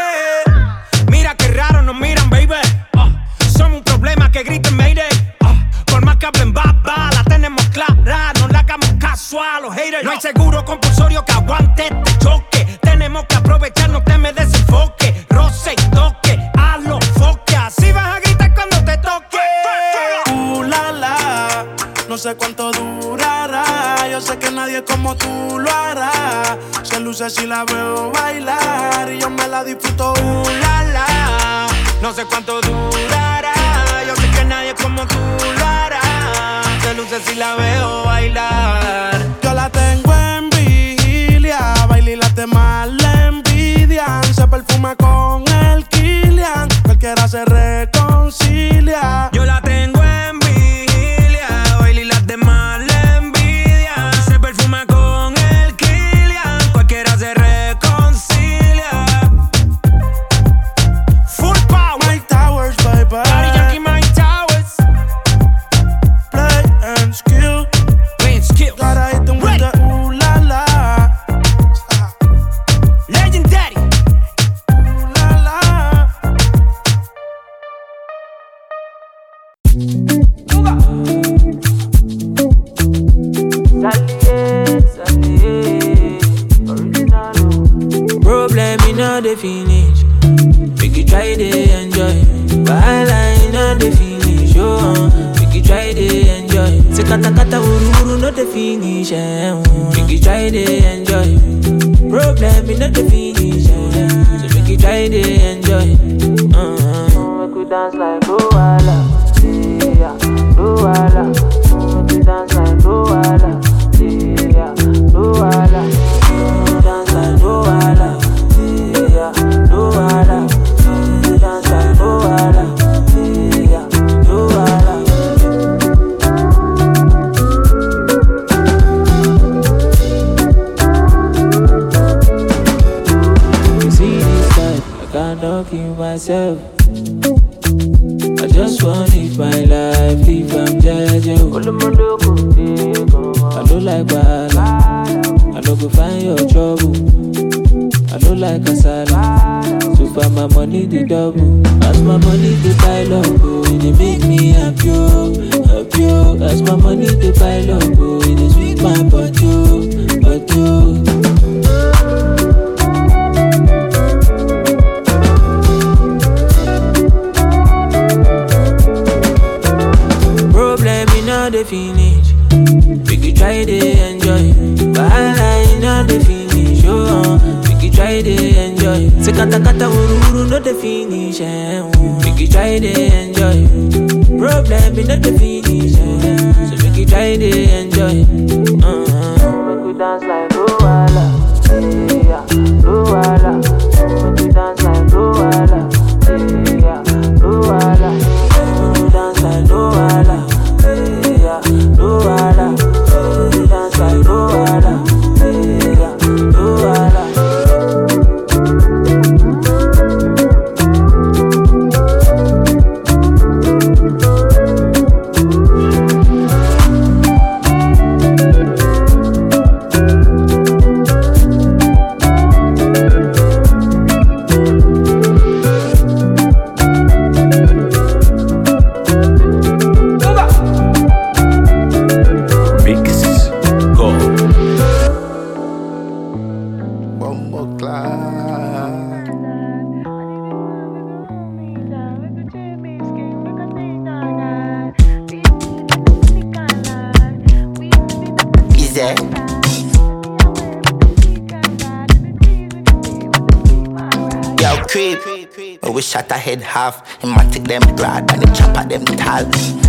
Mira qué raro nos miran, baby. uh, Somos un problema que griten mayday. uh, Por más que hablen baba, la tenemos clara. No le hagamos caso a los haters. No hay seguro compulsorio que aguante este choque. Tenemos que aprovechar, no te me desenfoque. Roce y toque, a los foques. Así vas a gritar cuando te toque. Uh, la, la. No sé cuánto durará. Yo sé que nadie como tú lo hará. Se luce si la veo bailar y yo me la disfruto. Uh, la, la. No sé cuánto durará. Yo sé que nadie como tú lo hará. Se luce si la veo bailar. Yo la tengo en vigilia, baila y las demás le envidian. Se perfuma con el Kilian, cualquiera se reconcilia. Yo la tengo en vigilia, baila y las demás le envidian. Se perfuma con el Kilian, cualquiera se reconcilia. Full power, Mike Towers, baby. Daddy Yankee, Mike Towers. Play and skill. Play and skill. Gotta hit them with the ooh la la. Legendary. Ooh la la. Problem in all the finish. Make you try to enjoy. Wahala in all the finish. Oh, make you try to enjoy. Say kata kata uru uru no the finish. Eh, oh. Make you try to enjoy. Problem in all the finish. Eh, so make you try to enjoy. Uh-huh. Make we dance like Luala, yeah, Luala. Make we dance like Luala, yeah, Luala. Dance like Luala, yeah, Luala. Dance like Luala, yeah, Luala. kill myself. I just wanna live my life, live I'm Jaja. I don't like bad, I don't go find your trouble. I don't like kasala, so far my money the double. As my money the pile up, oh, it dey make me happy, oh, happy, oh. As my money the pile up, oh, it dey sweet my body, oh, body, oh. Problem in all the finish, we could try to enjoy. Wahala in all the finish, oh, we could try to enjoy. Se kata kata uru uru no the finish, eh, we could try to enjoy. Problem in all the finish, eh, so we could try to enjoy. Uh-huh. We could dance like Luwala, yeah, Luwala. We could dance like Luwala, yeah, Luwala. We could dance like Luwala. Yeah, Luwala, dance like Luwala, yeah, Luwala. Shot a head half, him a take them broad and the chopper them tall.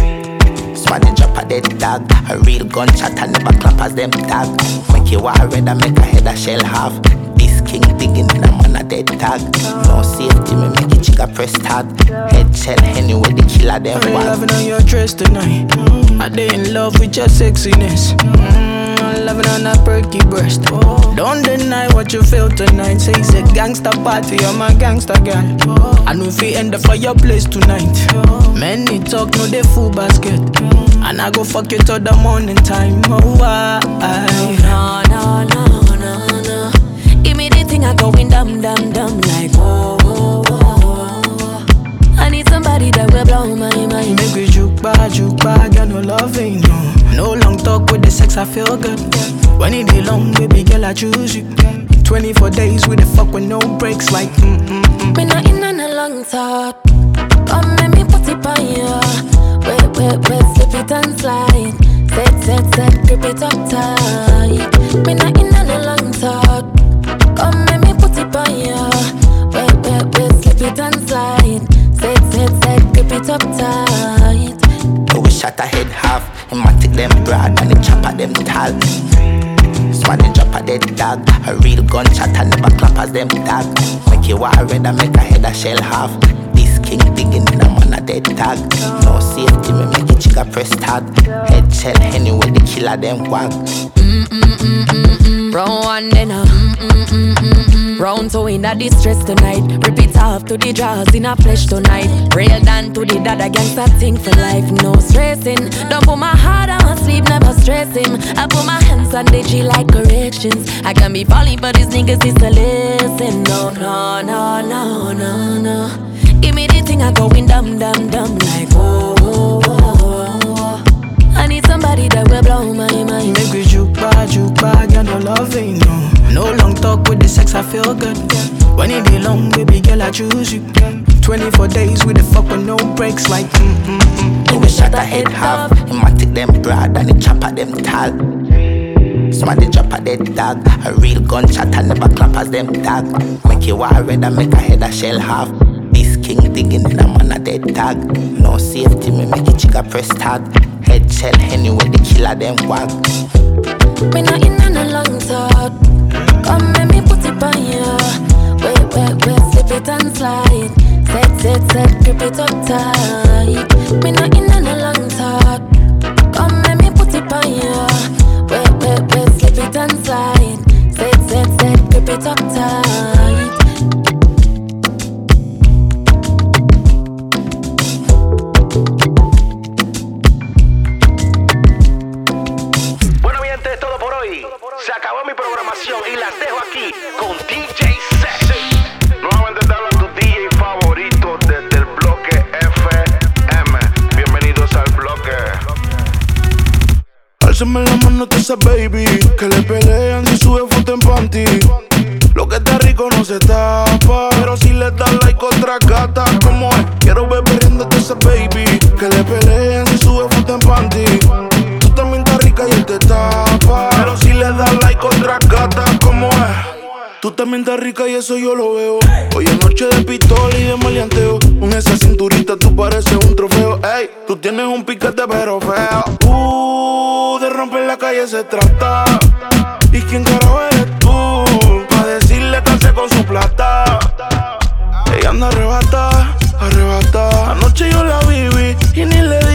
Smarty drop a dead dog, a real gunshot and never clap as them tag. Make you war red and make a head a shell half. This king digging in a man a dead tag. No safety, me make it chicka press tag. Head shell anyway the killer them I'm want. loving on your dress tonight. Mm, I dey in love with your sexiness. Mm, I'm loving on that perky breast. Don't deny what you feel tonight. Say it's a gangster party, I'm a gangster girl. I know if we end the fireplace tonight. Many talk, no they full basket. And I go fuck you till the morning time. Oh, I, no, no, no, no, no. Give me the thing I going dumb, dumb, dumb like whoa, whoa, whoa, whoa. I need somebody that will blow my mind. Make we juke back, juke back, got no loving, no. No long talk with the sex, I feel good. When it be long, baby girl, I choose you. twenty-four days with the fuck with no breaks, like mm mm mm. Me not in on a long talk. Come let me put it on you. Wait, wait, wait, slip it and slide. Set, set, set, grip it up tight. Me not in on a long talk. Come let me put it on you. Wait, wait, wait, slip it and slide. Set, set, set, grip it up tight. We shot a head half, him a take them broad and the chopper them tall. Smarty drop a dead dog, a real gunshot and never clap as them tag. Make you war red and make a head a shell half. This king digging in a man a dead tag. No safety, me make it chicka press tag. Head shell anyway the killer them wag. Mm mm mm mm mm. Round one then a mm mm mm mm mm. Round two in a distress tonight. Rip it off to the jaws in a flesh tonight. Real down to the dad against that thing for life. No stressing. Don't put my heart on my sleeve, never stressing. I put my hands on the G like corrections. I can be falling, but these niggas is a listen. No, no, no, no, no, no. Give me the thing I going dumb, dumb, dumb like whoa, whoa, whoa, whoa. I need somebody that will blow my mind. Make we juke back, juke back, got no loving, no. No long talk with the sex, I feel good. When it be long, baby girl, I choose you. twenty-four days with the fuck with no breaks, like mm mm mm. We shot a head half, him a take them broad and the chopper them tall. Somebody drop a dead dog, a real gunshot and never clap as them tag. Make you war red and make a head a shell half. This king digging in a man a dead tag. No safety, me make it chicka press tag. Head shell anyway the killer them wag. Me not in on a long talk. Come let me put it on you. Wait, wait, wait, slip it and slide. Set, set, set, grip it up tight. Me not in on a long talk. Come let me put it on you. Wait, wait, wait, slip it and slide. Set, set, set, grip it up tight. esas baby que le pelean si sube foto en panty. Lo que está rico no se tapa, pero si le das like otra gata, como es, quiero ver perdiéndote esa baby que le pelean si sube foto en panty. Tú también estás rica y él te tapa, pero si le das like otra gata, como es. Tú también estás rica y eso yo lo veo. Hoy es noche de pistola y de maleanteo. Con esa cinturita tú pareces un trofeo. Ey, tú tienes un piquete pero feo. Uh, de romper la calle se trata. ¿Y quién carajo eres tú? Pa' decirle que hace con su plata. Ella anda arrebata, arrebata. Anoche yo la viví y ni le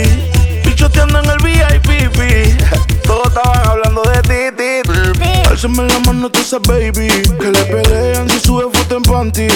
di. Pichoteando en el V I P. Todos estaban hablando de ti, ti, ti. Álzame la mano tú esa baby que le pelean si sube foto en panty.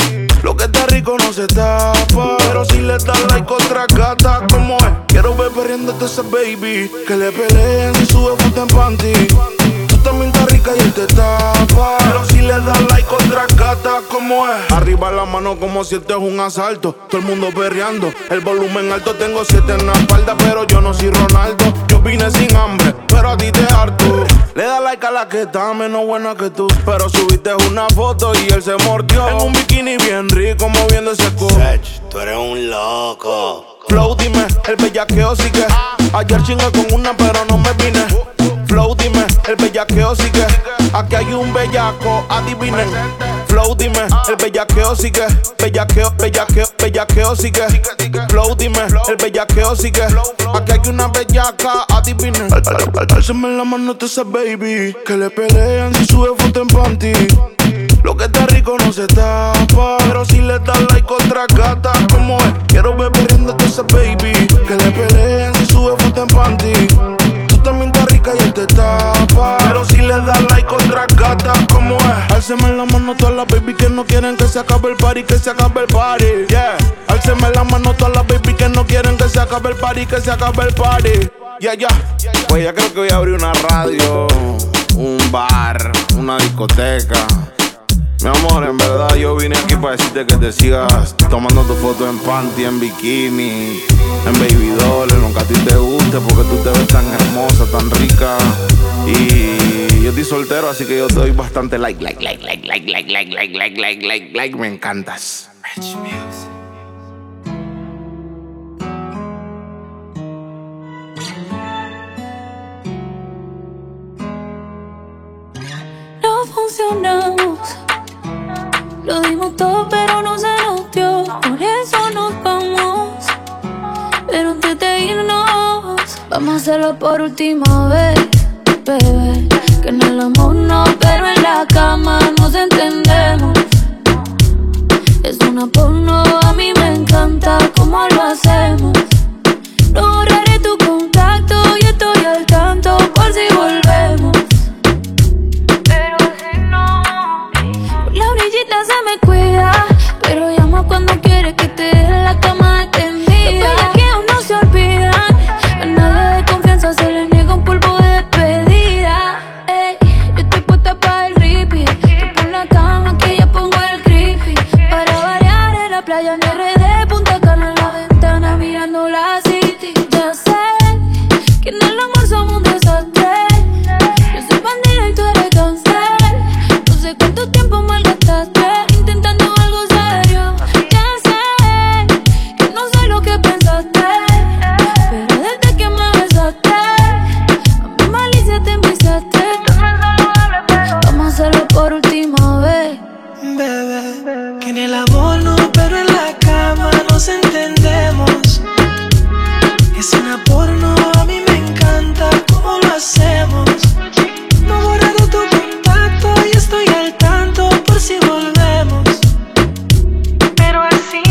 Lo que está rico no se tapa, pero si le das like otra gata, como es, quiero ver perdiéndote esa baby que le pelean si sube foto en panty. Tú también estás rica y él te tapa, pero si le das like otra gata, como es. Arriba la mano como si esto es un asalto, todo el mundo perreando, el volumen alto. Tengo siete en la espalda, pero yo no soy Ronaldo. Yo vine sin hambre, pero a ti te harto. Le da like a la que está menos buena que tú, pero subiste una foto y él se mordió en un bikini bien rico moviendo ese culo. Tú eres un loco. Flow, dime, el bellaqueo sigue. Ayer chingué con una pero no me vine. Flow, dime, el bellaqueo sigue. Aquí hay un bellaco, adivinen. Flow, dime, el bellaqueo sigue. Bellaqueo, bellaqueo, bellaqueo sigue. Flow, dime, el bellaqueo sigue. Aquí hay una bellaca, adivinen. Álzame la mano tú esa baby que le pelean si sube foto en panty. Lo que está rico no se tapa, pero si le das like otra gata, como es, quiero ver perdiéndote esa baby que le pelean si sube foto en panty. Tú también estás rica y él te tapa, pero si le das like otra gata, como es. Álzame la mano todas las baby que no quieren que se acabe el party, que se acabe el party, yeah. Álzame la mano todas las baby que no quieren que se acabe el party, que se acabe el party, yeah, yeah. Pues ya creo que voy a abrir una radio, un bar, una discoteca. Mi amor, en verdad yo vine aquí para decirte que te sigas tomando tu foto en panty, en bikini, en baby doll, en lo que a ti te guste, porque tú te ves tan hermosa, tan rica. Y yo estoy soltero, así que yo te doy bastante like, like, like, like, like, like, like, like, like, like, like, like, me encantas. Rich Music. No funcionamos. Lo dimos todo pero no se nos dio. Por eso nos vamos. Pero antes de irnos, vamos a hacerlo por última vez, bebé. Que en el amor no, pero en la cama nos entendemos. Es una porno, a mí me encanta cómo lo hacemos. No borraré tu contacto y estoy al tanto por si volvemos. Pero si no, por la orillita se me cuida, pero llama cuando quiere que te deje la cama extendida. Los bellaqueos no se olvidan, a nadie de confianza se le niega un polvo de despedida. Ey, yo estoy puesta para el repeat. Tú pon la cama que ya pongo el creepy. Para variar en la playa en R D, Punta Cana en la ventana mirando la city. Ya sé que en el amor somos un desastre. Yo soy bandida y tú eres cáncer. No sé cuánto tiempo malgastaste intentando algo serio. Ya sé que no sé lo que pensaste, pero desde que me besaste a mi malicia te enviciaste. Vamos a hacerlo por última vez, Bebé, que en el amor no, pero en la cama nos entendemos. Es una porno, a mí me encanta cómo lo hacemos. No he borrado tu contacto y estoy al tanto por si volvemos. Pero así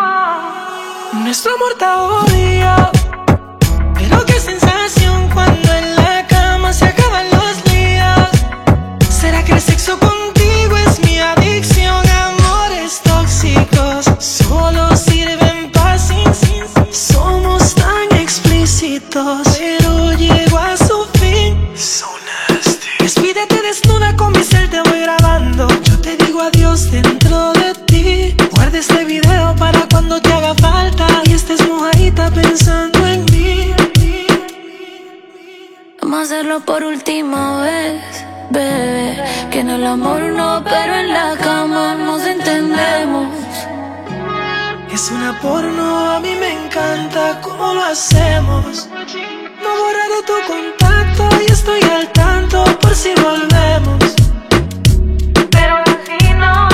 no. Nuestro amor está odio, pero qué sensación cuando en la cama se acaban los líos. ¿Será que el sexo contigo es mi adicción? Amores tóxicos solo sirven para sin, sin, sin. Somos tan explícitos, pero llego a su fin. So nasty. Despídete desnuda con mi cel, te voy grabando. Yo te digo adiós dentro de ti. Guarda este video para cuando te haga falta y estés mojadita pensando en mí. vamos a hacerlo por última vez, bebé. Que en el amor no, pero en la cama nos entendemos. Es una porno, a mí me encanta cómo lo hacemos. No borraré tu contacto y estoy al tanto por si volvemos. Pero si no,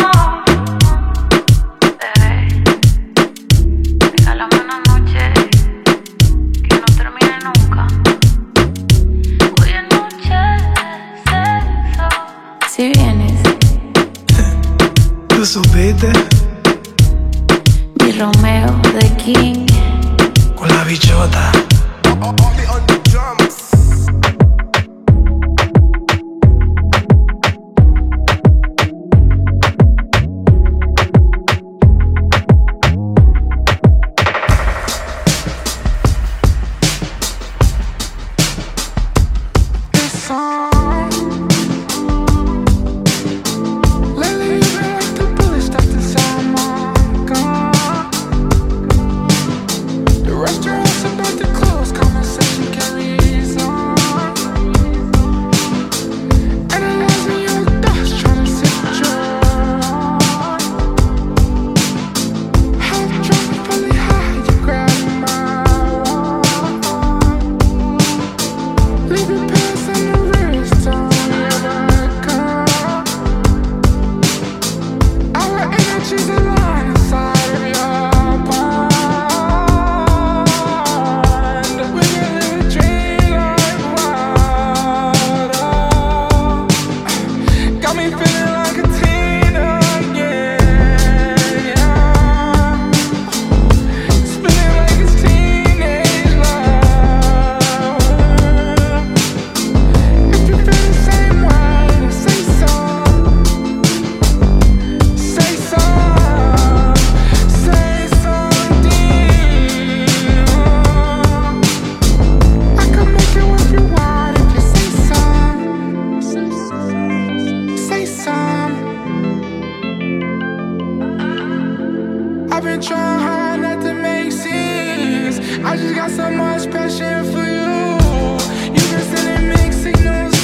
bebé, regálame una noche que no termine nunca. Hoy es noche de sexo. Si vienes, tú supiste. Mi Romeo de King con la bichota. I just got so much passion for you. You been sending mixed signals